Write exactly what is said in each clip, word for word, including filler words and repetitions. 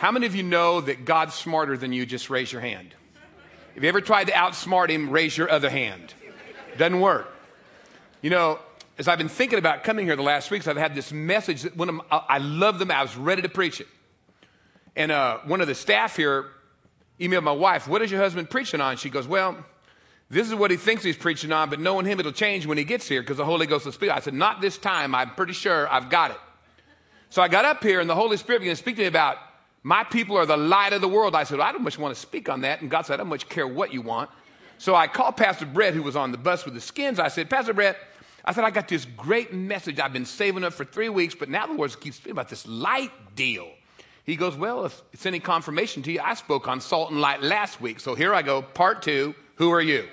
How many of you know that God's smarter than you? Just raise your hand. If you ever tried to outsmart him, raise your other hand. Doesn't work. You know, as I've been thinking about coming here the last weeks, I've had this message that one of my, I love them. I was ready to preach it. And uh, one of the staff here emailed my wife, what is your husband preaching on? She goes, well, this is what he thinks he's preaching on, but knowing him, it'll change when he gets here because the Holy Ghost will speak. I said, not this time. I'm pretty sure I've got it. So I got up here and the Holy Spirit began to speak to me about my people are the light of the world. I said, well, I don't much want to speak on that. And God said, I don't much care what you want. So I called Pastor Brett, who was on the bus with the skins. I said, Pastor Brett, I said, I got this great message I've been saving up for three weeks, but now the Lord keeps speaking about this light deal. He goes, well, if it's any confirmation to you, I spoke on salt and light last week. So here I go, part two, who are you?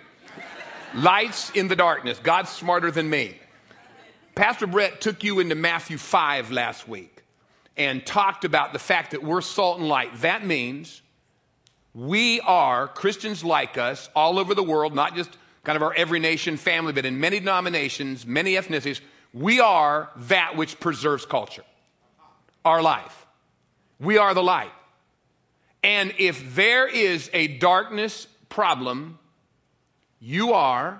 Lights in the darkness. God's smarter than me. Pastor Brett took you into Matthew five last week and talked about the fact that we're salt and light. That means we are, Christians like us, all over the world, not just kind of our every nation family, but in many denominations, many ethnicities, we are that which preserves culture, our life. We are the light. And if there is a darkness problem, you are,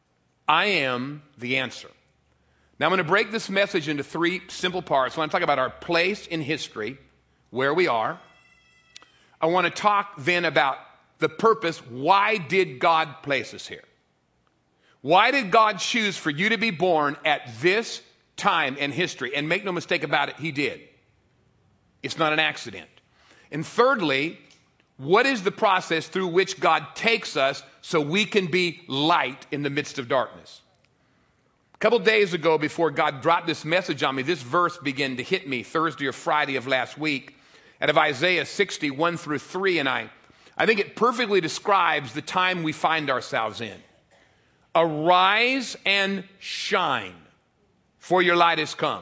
I am the answer. Now I'm going to break this message into three simple parts. I want to talk about our place in history, where we are. I want to talk then about the purpose. Why did God place us here? Why did God choose for you to be born at this time in history? And make no mistake about it, he did. It's not an accident. And thirdly, what is the process through which God takes us so we can be light in the midst of darkness? A couple days ago, before God dropped this message on me, this verse began to hit me Thursday or Friday of last week out of Isaiah sixty, one through three, and I, I think it perfectly describes the time we find ourselves in. Arise and shine, for your light has come,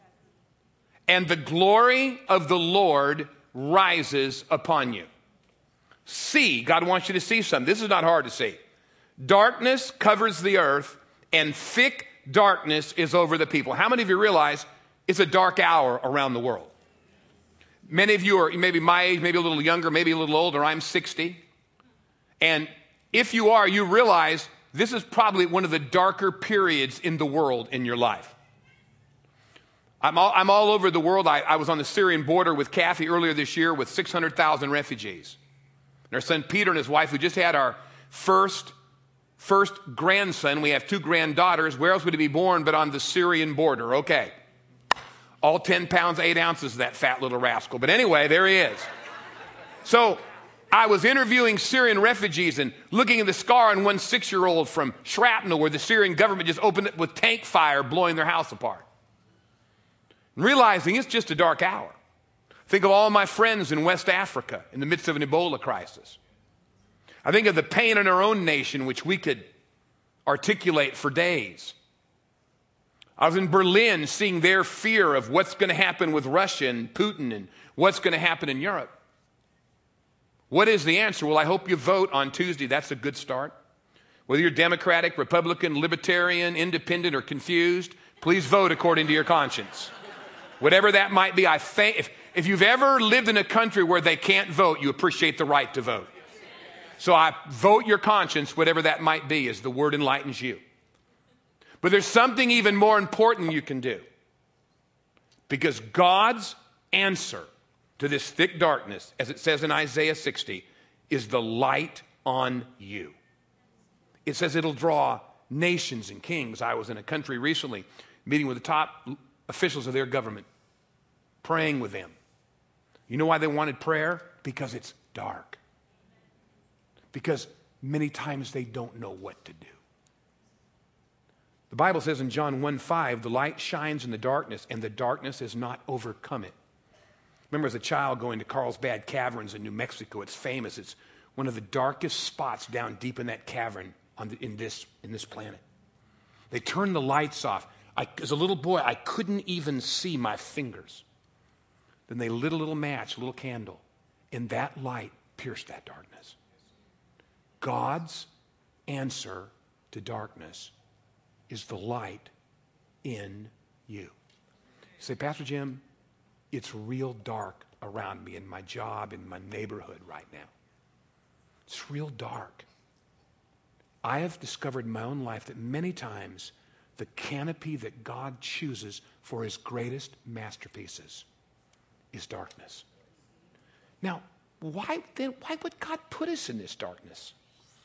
and the glory of the Lord rises upon you. See, God wants you to see something. This is not hard to see. Darkness covers the earth, and thick darkness is over the people. How many of you realize it's a dark hour around the world? Many of you are maybe my age, maybe a little younger, maybe a little older. I'm sixty. And if you are, you realize this is probably one of the darker periods in the world in your life. I'm all, I'm all over the world. I, I was on the Syrian border with Kathy earlier this year with six hundred thousand refugees. And our son Peter and his wife, who just had our first First grandson, we have two granddaughters. Where else would he be born but on the Syrian border? Okay. All ten pounds, eight ounces of that fat little rascal. But anyway, there he is. So I was interviewing Syrian refugees and looking at the scar on one six-year-old from shrapnel where the Syrian government just opened it with tank fire, blowing their house apart. And realizing it's just a dark hour. Think of all my friends in West Africa in the midst of an Ebola crisis. I think of the pain in our own nation, which we could articulate for days. I was in Berlin seeing their fear of what's going to happen with Russia and Putin and what's going to happen in Europe. What is the answer? Well, I hope you vote on Tuesday. That's a good start. Whether you're Democratic, Republican, Libertarian, Independent, or confused, please vote according to your conscience. Whatever that might be, I think if, if you've ever lived in a country where they can't vote, you appreciate the right to vote. So I vote your conscience, whatever that might be, as the word enlightens you. But there's something even more important you can do. Because God's answer to this thick darkness, as it says in Isaiah sixty, is the light on you. It says it'll draw nations and kings. I was in a country recently, meeting with the top officials of their government, praying with them. You know why they wanted prayer? Because it's dark. Because many times they don't know what to do. The Bible says in John one five, the light shines in the darkness, and the darkness has not overcome it. Remember as a child going to Carlsbad Caverns in New Mexico. It's famous. It's one of the darkest spots down deep in that cavern on the, in, this, in this planet. They turned the lights off. I, as a little boy, I couldn't even see my fingers. Then they lit a little match, a little candle, and that light pierced that darkness. God's answer to darkness is the light in you. You say, Pastor Jim, it's real dark around me in my job, in my neighborhood right now. It's real dark. I have discovered in my own life that many times the canopy that God chooses for his greatest masterpieces is darkness. Now, why then, why would God put us in this darkness?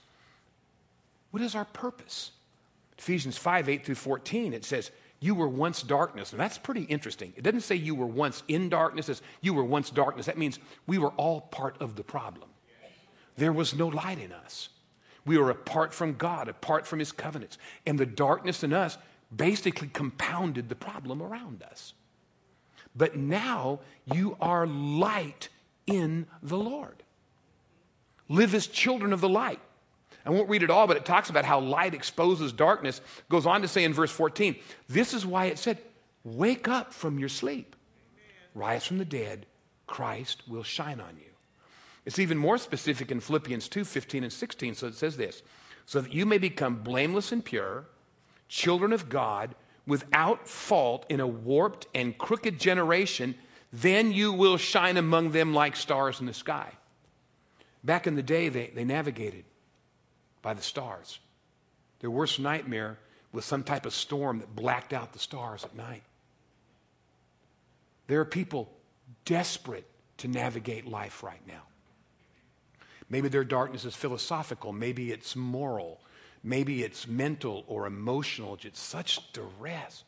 What is our purpose? Ephesians five, eight through fourteen, it says, you were once darkness. And that's pretty interesting. It doesn't say you were once in darkness. It says you were once darkness. That means we were all part of the problem. There was no light in us. We were apart from God, apart from his covenants. And the darkness in us basically compounded the problem around us. But now you are light in the Lord. Live as children of the light. I won't read it all, but it talks about how light exposes darkness. It goes on to say in verse fourteen, this is why it said, wake up from your sleep. Rise from the dead. Christ will shine on you. It's even more specific in Philippians two, fifteen and sixteen. So it says this, so that you may become blameless and pure, children of God, without fault in a warped and crooked generation, then you will shine among them like stars in the sky. Back in the day, they, they navigated by the stars. Their worst nightmare was some type of storm that blacked out the stars at night. There are people desperate to navigate life right now. Maybe their darkness is philosophical. Maybe it's moral. Maybe it's mental or emotional. It's such duress.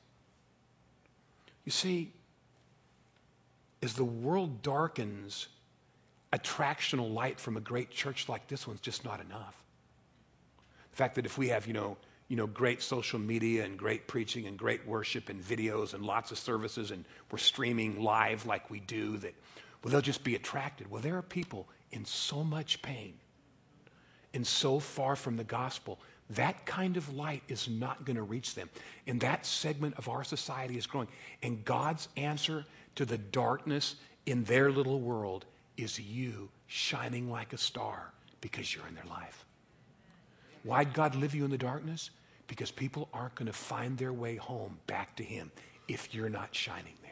You see, as the world darkens, attractional light from a great church like this one's just not enough. The fact that if we have, you know, you know, great social media and great preaching and great worship and videos and lots of services and we're streaming live like we do, that, well, they'll just be attracted. Well, there are people in so much pain and so far from the gospel, that kind of light is not going to reach them. And that segment of our society is growing. And God's answer to the darkness in their little world is you shining like a star because you're in their life. Why'd God leave you in the darkness? Because people aren't going to find their way home back to him if you're not shining there.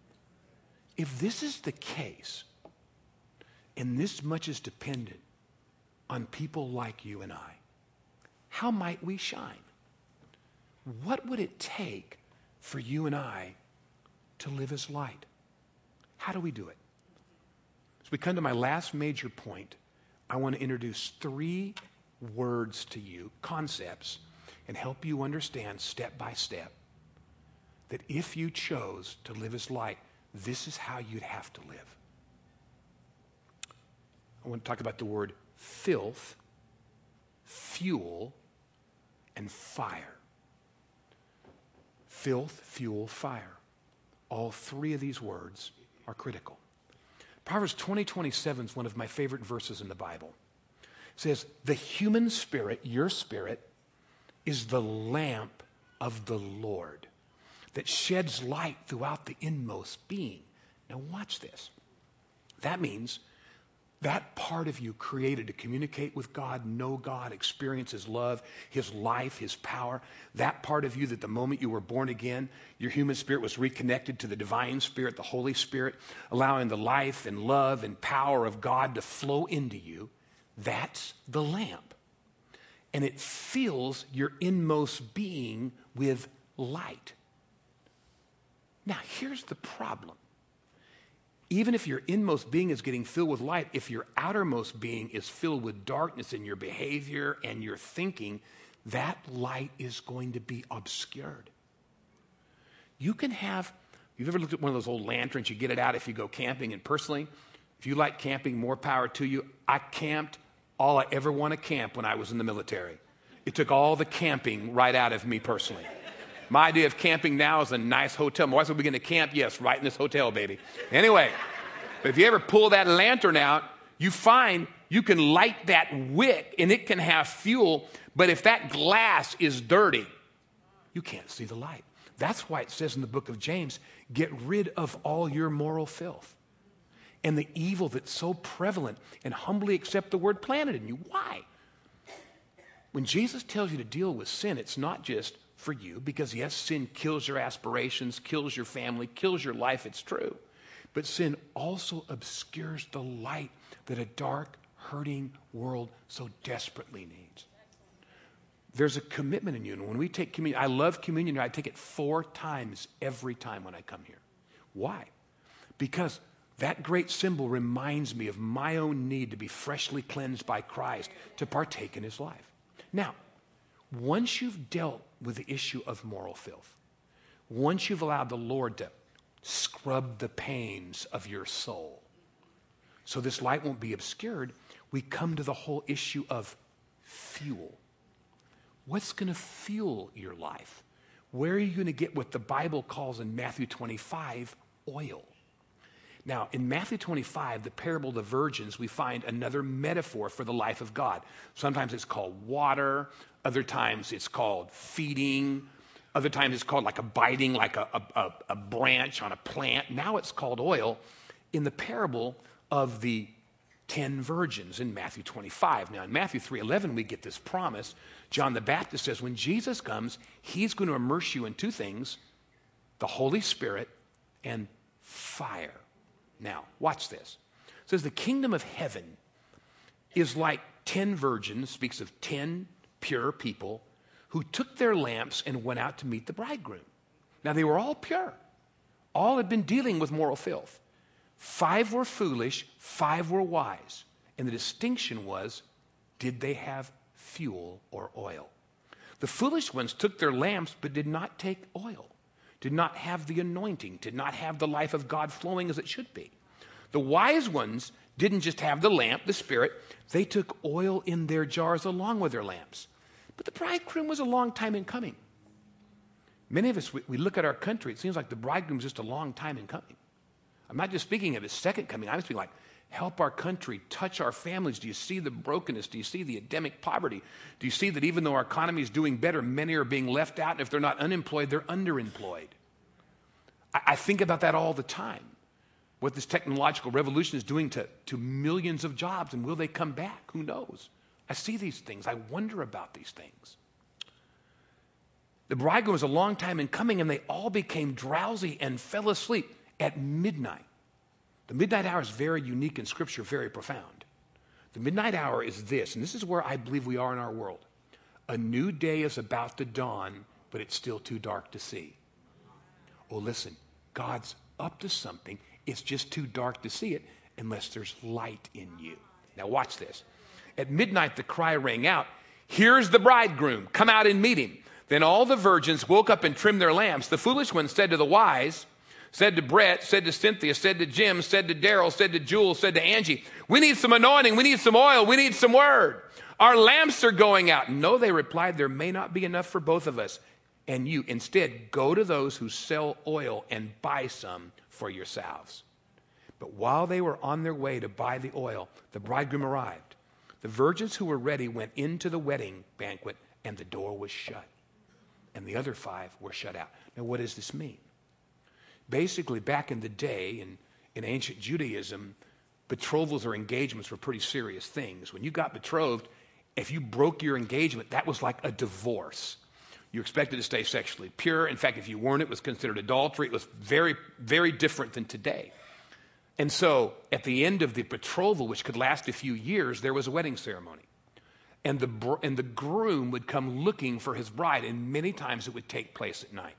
If this is the case, and this much is dependent on people like you and I, how might we shine? What would it take for you and I to live as light? How do we do it? As we come to my last major point, I want to introduce three words to you, concepts, and help you understand step by step that if you chose to live as light, this is how you'd have to live. I want to talk about the word filth, fuel, and fire. Filth, fuel, fire. All three of these words are critical. Proverbs twenty twenty-seven is one of my favorite verses in the Bible. It says, the human spirit, your spirit, is the lamp of the Lord that sheds light throughout the inmost being. Now watch this. That means that part of you created to communicate with God, know God, experience his love, his life, his power, that part of you that the moment you were born again, your human spirit was reconnected to the divine spirit, the Holy Spirit, allowing the life and love and power of God to flow into you. That's the lamp. And it fills your inmost being with light. Now, here's the problem. Even if your inmost being is getting filled with light, if your outermost being is filled with darkness in your behavior and your thinking, that light is going to be obscured. You can have, you've ever looked at one of those old lanterns, you get it out if you go camping, and personally, if you like camping, more power to you. I camped all I ever want to camp when I was in the military. It took all the camping right out of me personally. My idea of camping now is a nice hotel. My wife said, we're going to camp? Yes, right in this hotel, baby. Anyway, but if you ever pull that lantern out, you find you can light that wick and it can have fuel, but if that glass is dirty, you can't see the light. That's why it says in the book of James, get rid of all your moral filth and the evil that's so prevalent, and humbly accept the word planted in you. Why? When Jesus tells you to deal with sin, it's not just for you, because yes, sin kills your aspirations, kills your family, kills your life, it's true. But sin also obscures the light that a dark, hurting world so desperately needs. There's a commitment in you. And when we take communion, I love communion. I take it four times every time when I come here. Why? Because that great symbol reminds me of my own need to be freshly cleansed by Christ to partake in his life. Now, once you've dealt with the issue of moral filth, once you've allowed the Lord to scrub the pains of your soul, so this light won't be obscured, we come to the whole issue of fuel. What's going to fuel your life? Where are you going to get what the Bible calls in Matthew twenty-five, oil? Now, in Matthew twenty-five, the parable of the virgins, we find another metaphor for the life of God. Sometimes it's called water. Other times it's called feeding. Other times it's called like abiding, like a, a, a branch on a plant. Now it's called oil in the parable of the ten virgins in Matthew twenty-five. Now, in Matthew three eleven, we get this promise. John the Baptist says, when Jesus comes, he's going to immerse you in two things, the Holy Spirit and fire. Now, watch this. It says the kingdom of heaven is like ten virgins, speaks of ten pure people who took their lamps and went out to meet the bridegroom. Now, they were all pure. All had been dealing with moral filth. Five were foolish, five were wise. And the distinction was, did they have fuel or oil? The foolish ones took their lamps but did not take oil, did not have the anointing, did not have the life of God flowing as it should be. The wise ones didn't just have the lamp, the Spirit, they took oil in their jars along with their lamps. But the bridegroom was a long time in coming. Many of us, we, we look at our country, it seems like the bridegroom's just a long time in coming. I'm not just speaking of his second coming. I'm speaking like, help our country, touch our families. Do you see the brokenness? Do you see the endemic poverty? Do you see that even though our economy is doing better, many are being left out, and if they're not unemployed, they're underemployed? I, I think about that all the time, what this technological revolution is doing to, to millions of jobs, and will they come back? Who knows? I see these things. I wonder about these things. The bridegroom was a long time in coming, and they all became drowsy and fell asleep at midnight. The midnight hour is very unique in Scripture, very profound. The midnight hour is this, and this is where I believe we are in our world. A new day is about to dawn, but it's still too dark to see. Oh, listen, God's up to something. It's just too dark to see it unless there's light in you. Now watch this. At midnight, the cry rang out, "Here's the bridegroom, come out and meet him." Then all the virgins woke up and trimmed their lamps. The foolish ones said to the wise, said to Brett, said to Cynthia, said to Jim, said to Daryl, said to Jules, said to Angie, "We need some anointing, we need some oil, we need some word. Our lamps are going out." "No," they replied, "there may not be enough for both of us and you. Instead, go to those who sell oil and buy some for yourselves." But while they were on their way to buy the oil, the bridegroom arrived. The virgins who were ready went into the wedding banquet, and the door was shut. And the other five were shut out. Now, what does this mean? Basically, back in the day, in, in ancient Judaism, betrothals or engagements were pretty serious things. When you got betrothed, if you broke your engagement, that was like a divorce. You expected to stay sexually pure. In fact, if you weren't, it was considered adultery. It was very, very different than today. And so, at the end of the betrothal, which could last a few years, there was a wedding ceremony. And the, br- and the groom would come looking for his bride, and many times it would take place at night.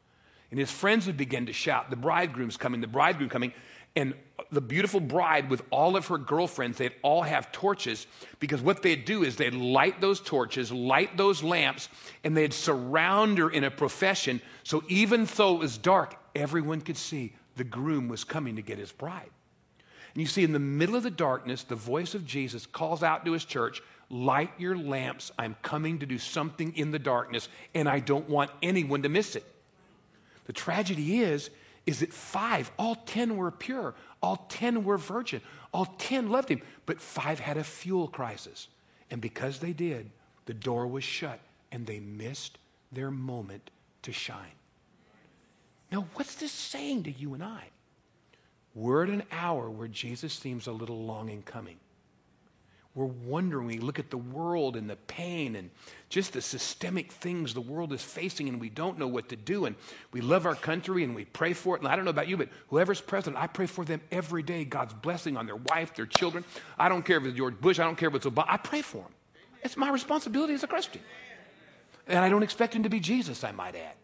And his friends would begin to shout, "The bridegroom's coming, the bridegroom coming." And the beautiful bride with all of her girlfriends, they'd all have torches, because what they'd do is they'd light those torches, light those lamps, and they'd surround her in a procession, so even though it was dark, everyone could see the groom was coming to get his bride. And you see, in the middle of the darkness, the voice of Jesus calls out to his church, "Light your lamps, I'm coming to do something in the darkness, and I don't want anyone to miss it." The tragedy is, is that five, all ten were pure, all ten were virgin, all ten loved him, but five had a fuel crisis. And because they did, the door was shut, and they missed their moment to shine. Now, what's this saying to you and I? We're at an hour where Jesus seems a little long in coming. we're wondering, we look at the world and the pain and just the systemic things the world is facing, and we don't know what to do. And we love our country and we pray for it. And I don't know about you, but whoever's president, I pray for them every day. God's blessing on their wife, their children. I don't care if it's George Bush. I don't care if it's Obama. I pray for them. It's my responsibility as a Christian. And I don't expect him to be Jesus, I might add.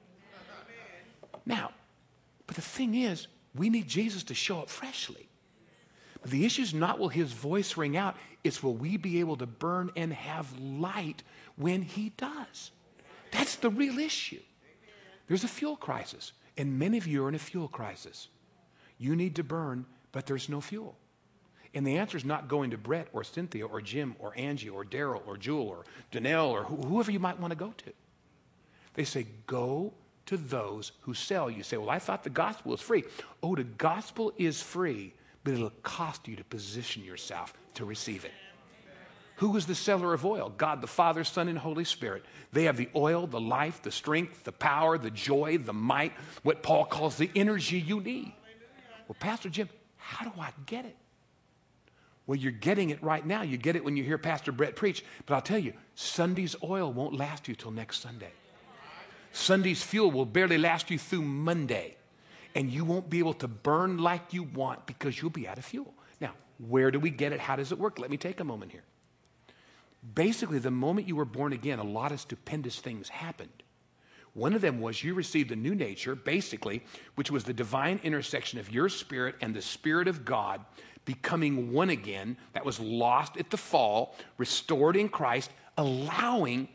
Now, but the thing is, we need Jesus to show up freshly. But the issue is not will his voice ring out, it's will we be able to burn and have light when he does. That's the real issue. There's a fuel crisis, and many of you are in a fuel crisis. You need to burn, but there's no fuel. And the answer is not going to Brett or Cynthia or Jim or Angie or Daryl or Jewel or Danelle or wh- whoever you might want to go to. They say, go to those who sell. You say, well, I thought the gospel was free. Oh, the gospel is free, but it'll cost you to position yourself to receive it. Who is the seller of oil? God, the Father, Son, and Holy Spirit. They have the oil, the life, the strength, the power, the joy, the might, what Paul calls the energy you need. Well, Pastor Jim, how do I get it? Well, you're getting it right now. You get it when you hear Pastor Brett preach. But I'll tell you, Sunday's oil won't last you till next Sunday. Sunday's fuel will barely last you through Monday. And you won't be able to burn like you want because you'll be out of fuel. Now, where do we get it? How does it work? Let me take a moment here. Basically, the moment you were born again, a lot of stupendous things happened. One of them was you received a new nature, basically, which was the divine intersection of your spirit and the Spirit of God becoming one again, that was lost at the fall, restored in Christ, allowing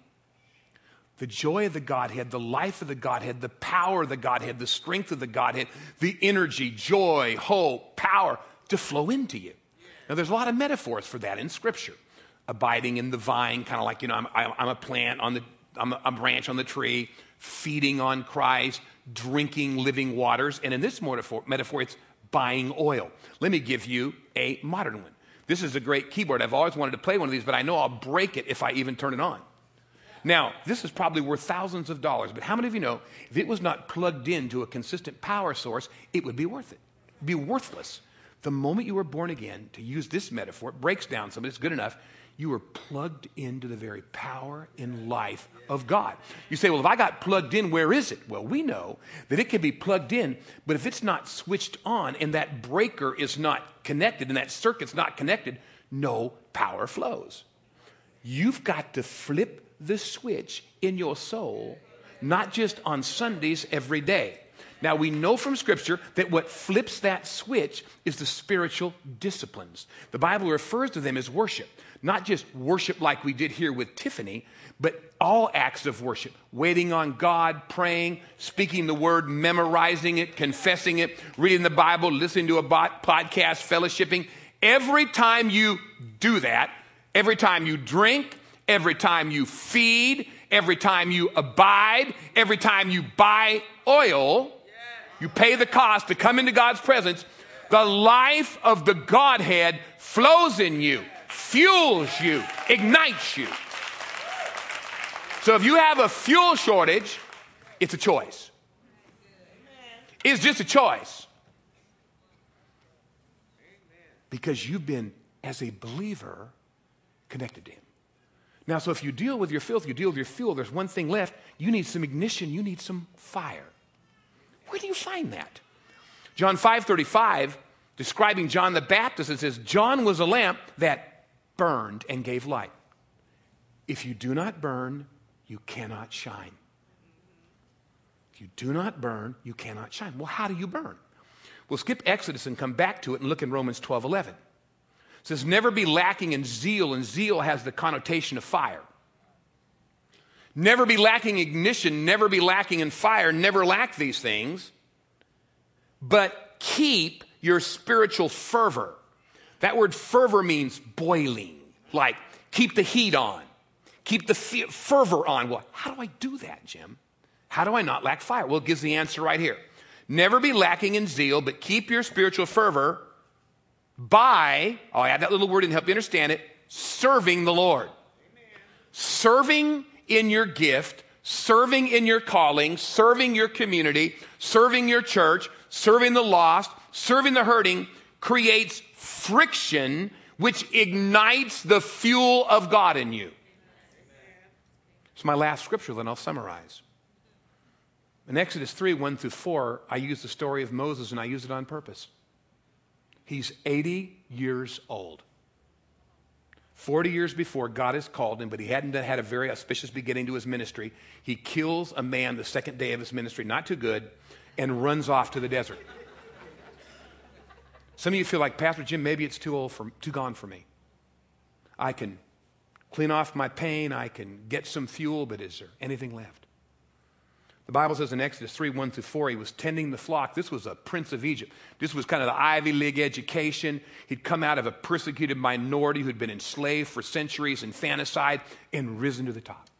the joy of the Godhead, the life of the Godhead, the power of the Godhead, the strength of the Godhead, the energy, joy, hope, power to flow into you. Now, there's a lot of metaphors for that in Scripture. Abiding in the vine, kind of like, you know, I'm, I'm a plant on the, I'm a, a branch on the tree, feeding on Christ, drinking living waters. And in this metaphor, metaphor, it's buying oil. Let me give you a modern one. This is a great keyboard. I've always wanted to play one of these, but I know I'll break it if I even turn it on. Now, this is probably worth thousands of dollars, but how many of you know if it was not plugged into a consistent power source, it would be worth it? It'd be worthless. The moment you were born again, to use this metaphor, it breaks down some, but it's good enough. You were plugged into the very power and life of God. You say, well, if I got plugged in, where is it? Well, we know that it can be plugged in, but if it's not switched on and that breaker is not connected and that circuit's not connected, no power flows. You've got to flip the switch in your soul, not just on Sundays, every day. Now, we know from Scripture that what flips that switch is the spiritual disciplines. The Bible refers to them as worship. Not just worship like we did here with Tiffany, but all acts of worship. Waiting on God, praying, speaking the word, memorizing it, confessing it, reading the Bible, listening to a podcast, fellowshipping. Every time you do that, every time you drink, every time you feed, every time you abide, every time you buy oil, you pay the cost to come into God's presence, the life of the Godhead flows in you, fuels you, ignites you. So if you have a fuel shortage, it's a choice. It's just a choice. Because you've been, as a believer, connected to him. Now, so if you deal with your filth, you deal with your fuel, there's one thing left. You need some ignition. You need some fire. Where do you find that? John five thirty-five, describing John the Baptist, it says, John was a lamp that burned and gave light. If you do not burn, you cannot shine. If you do not burn, you cannot shine. Well, how do you burn? We'll skip Exodus and come back to it and look in Romans twelve eleven. It says, never be lacking in zeal, and zeal has the connotation of fire. Never be lacking ignition, never be lacking in fire, never lack these things, but keep your spiritual fervor. That word fervor means boiling, like keep the heat on, keep the fervor on. Well, how do I do that, Jim? How do I not lack fire? Well, it gives the answer right here. Never be lacking in zeal, but keep your spiritual fervor by, I'll add that little word and help you understand it, serving the Lord. Amen. Serving in your gift, serving in your calling, serving your community, serving your church, serving the lost, serving the hurting creates friction which ignites the fuel of God in you. It's my last scripture, then I'll summarize. In Exodus three, one through four, I use the story of Moses, and I use it on purpose. He's eighty years old. forty years before, God has called him, but he hadn't had a very auspicious beginning to his ministry. He kills a man the second day of his ministry, not too good, and runs off to the desert. Some of you feel like, Pastor Jim, maybe it's too old for, too gone for me. I can clean off my pain, I can get some fuel, but is there anything left? The Bible says in Exodus three, one through four, he was tending the flock. This was a prince of Egypt. This was kind of the Ivy League education. He'd come out of a persecuted minority who'd been enslaved for centuries, infanticide, and risen to the top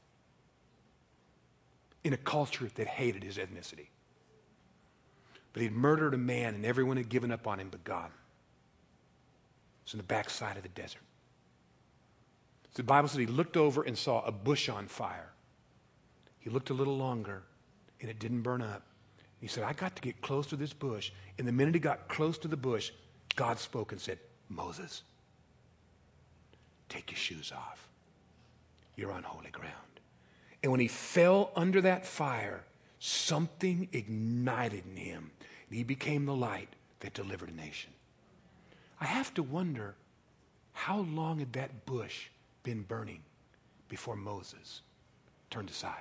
in a culture that hated his ethnicity. But he'd murdered a man, and everyone had given up on him but God. It's in the backside of the desert. So the Bible said he looked over and saw a bush on fire. He looked a little longer, and it didn't burn up. He said, I got to get close to this bush. And the minute he got close to the bush, God spoke and said, Moses, take your shoes off. You're on holy ground. And when he fell under that fire, something ignited in him. And he became the light that delivered a nation. I have to wonder, how long had that bush been burning before Moses turned aside?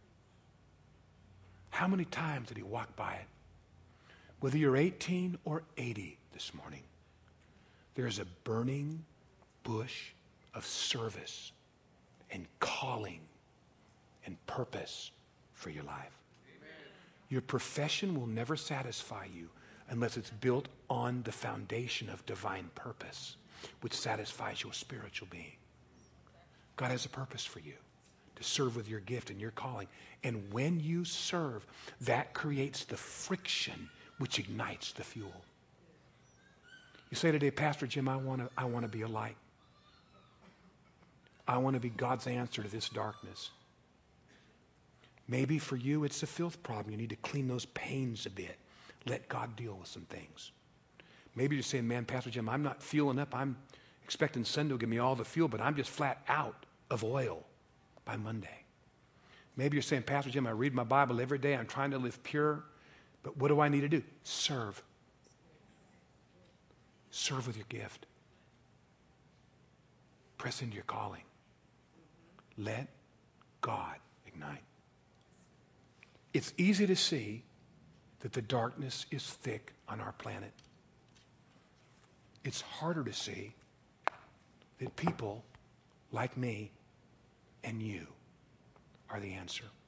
How many times did he walk by it? Whether you're eighteen or eighty this morning, there's a burning bush of service and calling and purpose for your life. Amen. Your profession will never satisfy you unless it's built on the foundation of divine purpose, which satisfies your spiritual being. God has a purpose for you, to serve with your gift and your calling. And when you serve, that creates the friction which ignites the fuel. You say today, Pastor Jim, I want to I want to be a light. I want to be God's answer to this darkness. Maybe for you it's a filth problem. You need to clean those pains a bit. Let God deal with some things. Maybe you're saying, man, Pastor Jim, I'm not fueling up. I'm expecting Sunday to give me all the fuel, but I'm just flat out of oil by Monday. Maybe you're saying, Pastor Jim, I read my Bible every day. I'm trying to live pure. But what do I need to do? Serve. Serve with your gift. Press into your calling. Let God ignite. It's easy to see that the darkness is thick on our planet. It's harder to see that people like me and you are the answer.